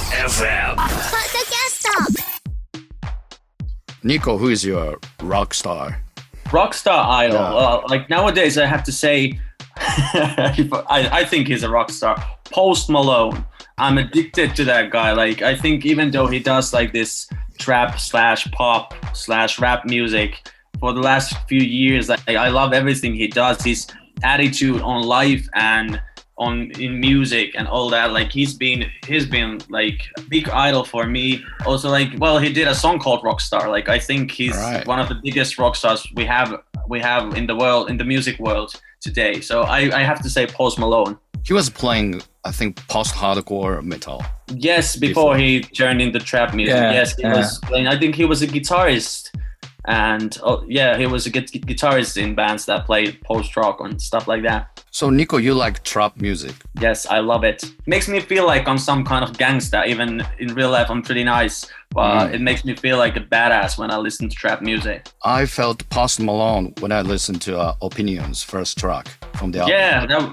FM. Nico, who is your rock star? Rockstar idol. Yeah. Like nowadays, I have to say, I think he's a rock star. Post Malone. I'm addicted to that guy. Like, I think even though he does like this trap / pop / rap music for the last few years, I love everything he does. His attitude on life and in music and all that. Like he's been like a big idol for me. Also, like, well, he did a song called Rockstar. Like I think he's one of the biggest rock stars we have in the world, in the music world today. So I have to say Post Malone. He was playing, I think, post-hardcore metal. Yes, before he turned into trap music. Yeah, yes, he was playing. I think he was a guitarist. And he was a guitarist in bands that played post-rock and stuff like that. So Nico, you like trap music? Yes, I love it. Makes me feel like I'm some kind of gangster. Even in real life, I'm pretty nice. But it makes me feel like a badass when I listen to trap music. I felt Post Malone when I listened to Opinions first track from the album. Yeah,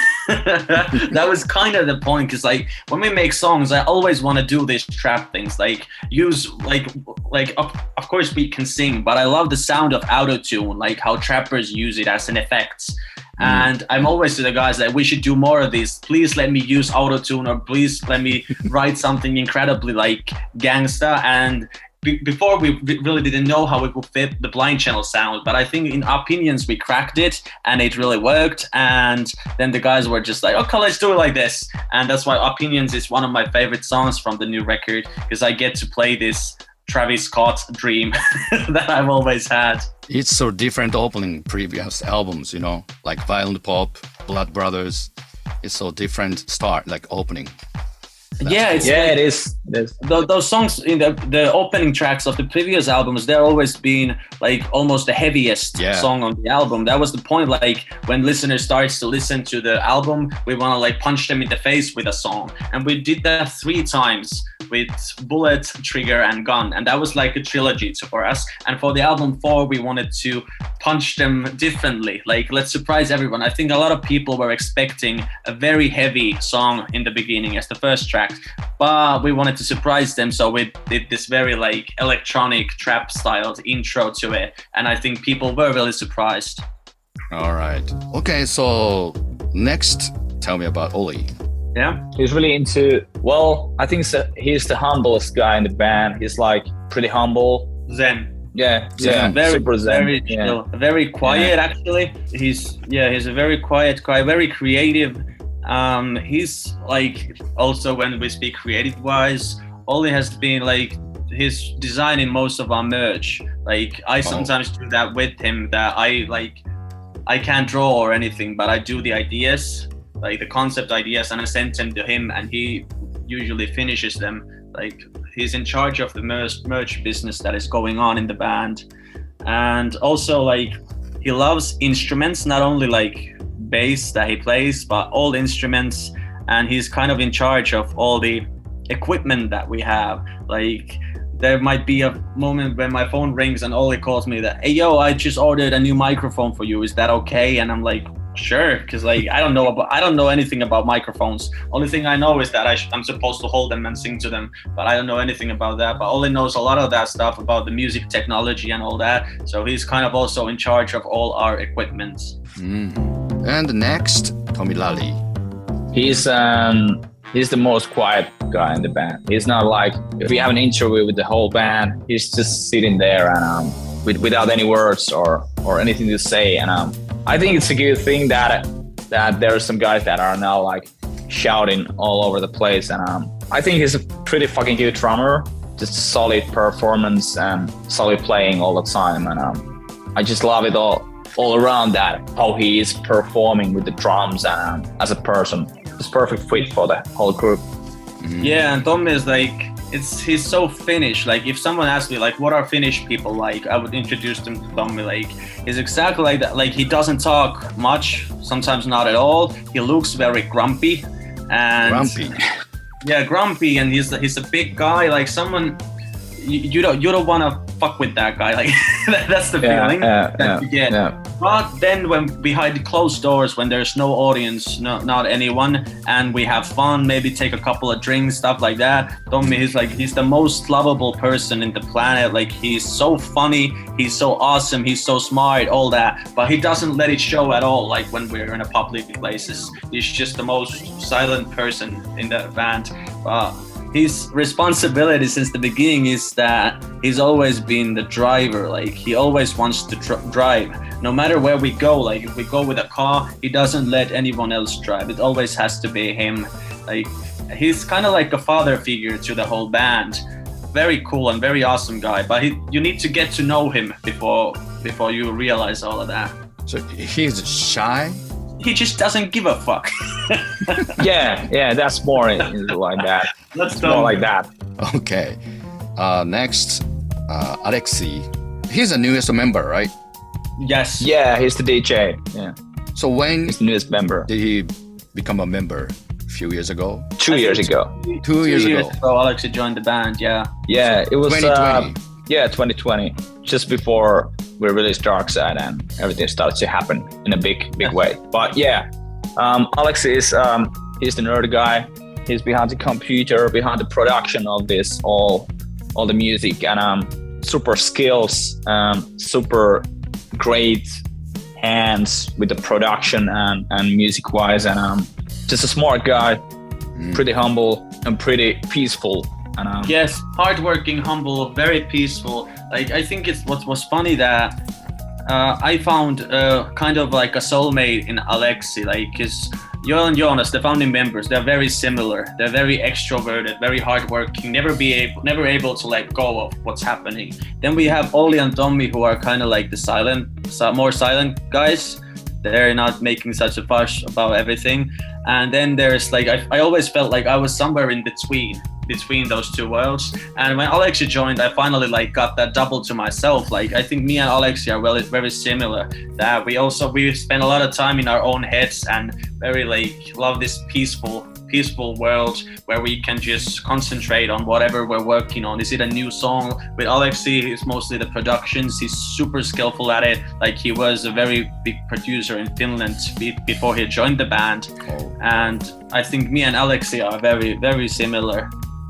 that was kind of the point, because like when we make songs, I always want to do these trap things, like use like of course we can sing, but I love the sound of auto-tune, like how trappers use it as an effect. And I'm always to the guys that we should do more of this. Please let me use auto-tune, or please let me write something incredibly like gangsta. And before we really didn't know how it would fit the Blind Channel sound, but I think in Opinions we cracked it and it really worked. And then the guys were just like, okay, let's do it like this. And that's why Opinions is one of my favorite songs from the new record, because I get to play this Travis Scott dream that I've always had. It's so different opening previous albums, you know, like Violent Pop, Blood Brothers. It's so different start, like opening. It is. Those songs in the opening tracks of the previous albums, they're always been like almost the heaviest song on the album. That was the point. Like when listeners starts to listen to the album, we want to like punch them in the face with a song, and we did that 3 times with Bullet, Trigger, and Gun, and that was like a trilogy for us. And for the album 4, we wanted to punch them differently. Like, let's surprise everyone. I think a lot of people were expecting a very heavy song in the beginning as the first track, but we wanted to surprise them, so we did this very like electronic trap styled intro to it, and I think people were really surprised. All right. Okay, so next, tell me about Olli. Yeah, he's really into, well, I think he's the humblest guy in the band. He's like pretty humble. Zen. Yeah, very, super zen. Very chill, very quiet actually. He's a very quiet guy, very creative. He's like, also when we speak creative wise, Olli has been like, he's designing most of our merch. Like I sometimes do that with him, that I can't draw or anything, but I do the ideas, like the concept ideas, and I send them to him, and he usually finishes them. Like he's in charge of the merch business that is going on in the band. And also like he loves instruments, not only like bass that he plays, but all instruments, and he's kind of in charge of all the equipment that we have. Like there might be a moment when my phone rings and Olli calls me that, hey yo, I just ordered a new microphone for you, is that okay? And I'm like, sure, because like I don't know anything about microphones. Only thing I know is that I'm supposed to hold them and sing to them, but I don't know anything about that. But Olli knows a lot of that stuff about the music technology and all that, so he's kind of also in charge of all our equipment. And next, Tommy Lally. He's the most quiet guy in the band. He's not like, if we have an interview with the whole band, he's just sitting there and without any words or anything to say. And I think it's a good thing that there are some guys that are now like shouting all over the place. And I think he's a pretty fucking good drummer, just solid performance and solid playing all the time. And I just love it all around that, how he is performing with the drums and as a person. It's perfect fit for the whole group. Yeah, and Tommy is like, he's so Finnish. Like if someone asked me like what are Finnish people like, I would introduce them to Tommy. Like he's exactly like that. Like he doesn't talk much, sometimes not at all. He looks very grumpy. Yeah, grumpy, and he's a big guy. Like someone you don't want to fuck with that guy. Like that's the feeling that you get. Yeah. But then when behind closed doors, when there's no audience, not anyone, and we have fun, maybe take a couple of drinks, stuff like that. Tommy, he's the most lovable person in the planet. Like he's so funny, he's so awesome, he's so smart, all that. But he doesn't let it show at all. Like when we're in a public places, he's just the most silent person in the band. His responsibility since the beginning is that he's always been the driver. Like he always wants to drive, no matter where we go. Like if we go with a car, he doesn't let anyone else drive. It always has to be him. Like he's kind of like a father figure to the whole band. Very cool and very awesome guy. But you need to get to know him before you realize all of that. So he's shy? He just doesn't give a fuck. yeah, that's more like that. That's more like that. Okay. Next, Alexei. He's the newest member, right? Yes. Yeah, he's the DJ. Yeah. So when he's the newest member. Did he become a member? A few years ago? 2 years ago. 2 years ago. Alexei joined the band, yeah. Yeah, it was 2020. 2020. Just before we released Dark Side and everything started to happen in a big way. But yeah, Alexei is he's the nerd guy. He's behind the computer, behind the production of this, all the music, and super skills, super great hands with the production and music wise, and just a smart guy, pretty humble and pretty peaceful. And, yes, hardworking, humble, very peaceful. Like I think it's what was funny that I found kind of like a soulmate in Alexei, like because Joel and Jonas, the founding members, they're very similar. They're very extroverted, very hardworking, never able to let go of what's happening. Then we have Olli and Tommy, who are kind of like the more silent guys. They're not making such a fuss about everything. And then there's like I always felt like I was somewhere in between those two worlds. And when Alexei joined, I finally like got that double to myself. Like I think me and Alexei are very similar. That we spend a lot of time in our own heads and very like love this peaceful world where we can just concentrate on whatever we're working on. Is it a new song? With Alexei, it's mostly the productions. He's super skillful at it. Like he was a very big producer in Finland before he joined the band. And I think me and Alexei are very, very similar.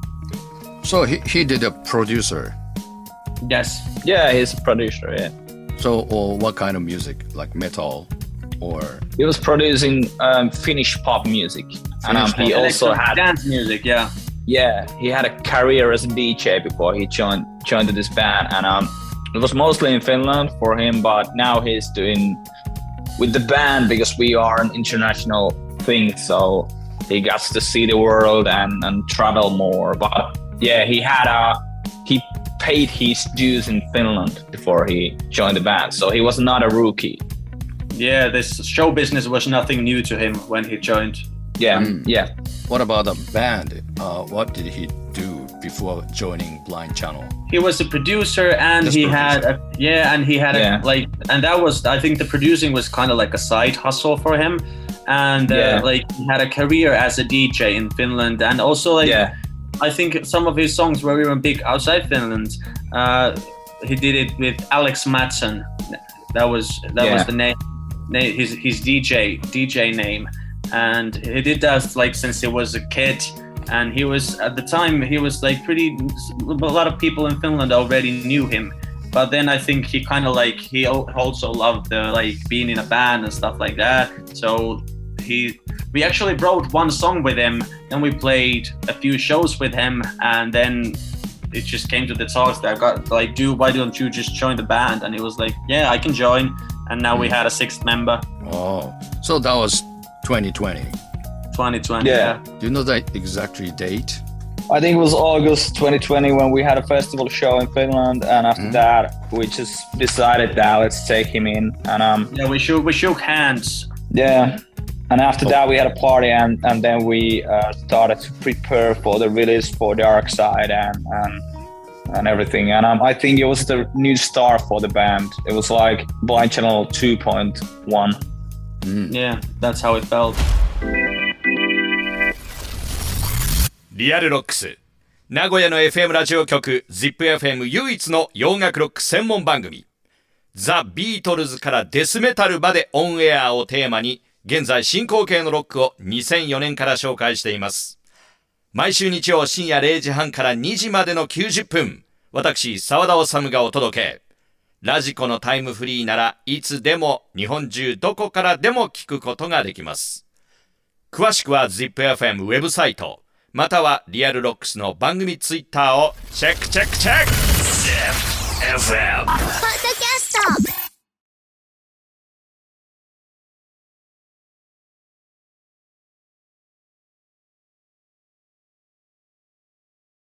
So he did a producer? Yes. Yeah, he's a producer, yeah. So what kind of music? Like metal or? He was producing Finnish pop music. And he also had dance music, yeah. Yeah, he had a career as a DJ before he joined this band. And it was mostly in Finland for him, but now he's doing with the band because we are an international thing. So he got to see the world and travel more. But yeah, he paid his dues in Finland before he joined the band. So he was not a rookie. Yeah, this show business was nothing new to him when he joined. Yeah, yeah. What about the band? What did he do before joining Blind Channel? He was a producer, and he had that was, I think the producing was kind of like a side hustle for him, and like he had a career as a DJ in Finland, and also I think some of his songs were even big outside Finland. He did it with Alex Mattsson. That was the name, his DJ name. And he did that like since he was a kid, and he was at the time like a lot of people in Finland already knew him. But then I think he kind of like he also loved the like being in a band and stuff like that. So we actually wrote one song with him, then we played a few shows with him, and then it just came to the talks that I got like, why don't you just join the band? And he was like, yeah, I can join. And now we had a sixth member. Oh, so that was 2020. 2020, yeah. Do you know the exact date? I think it was August 2020 when we had a festival show in Finland, and after that we just decided that let's take him in. And we shook hands. Yeah, and after that we had a party, and then we started to prepare for the release for Dark Side and everything. And I think it was the new start for the band. It was like Blind Channel 2.1. Yeah, that's how it felt. リアルロックス名古屋の FM ラジオ局 ZIPFM 唯一の洋楽ロック専門番組ザ・ビートルズからデスメタルまでオンエアをテーマに現在進行形のロックを2004年から紹介しています。毎週日曜深夜0時半から2時までの90分、私澤田治がお届け。ラジコのタイムフリーならいつでも日本中どこからでも聞くことができます。詳しくは ZIPFM ウェブサイトまたはリアルロックスの番組ツイッターをチェックチェックチェック ZIPFM ポッドキャスト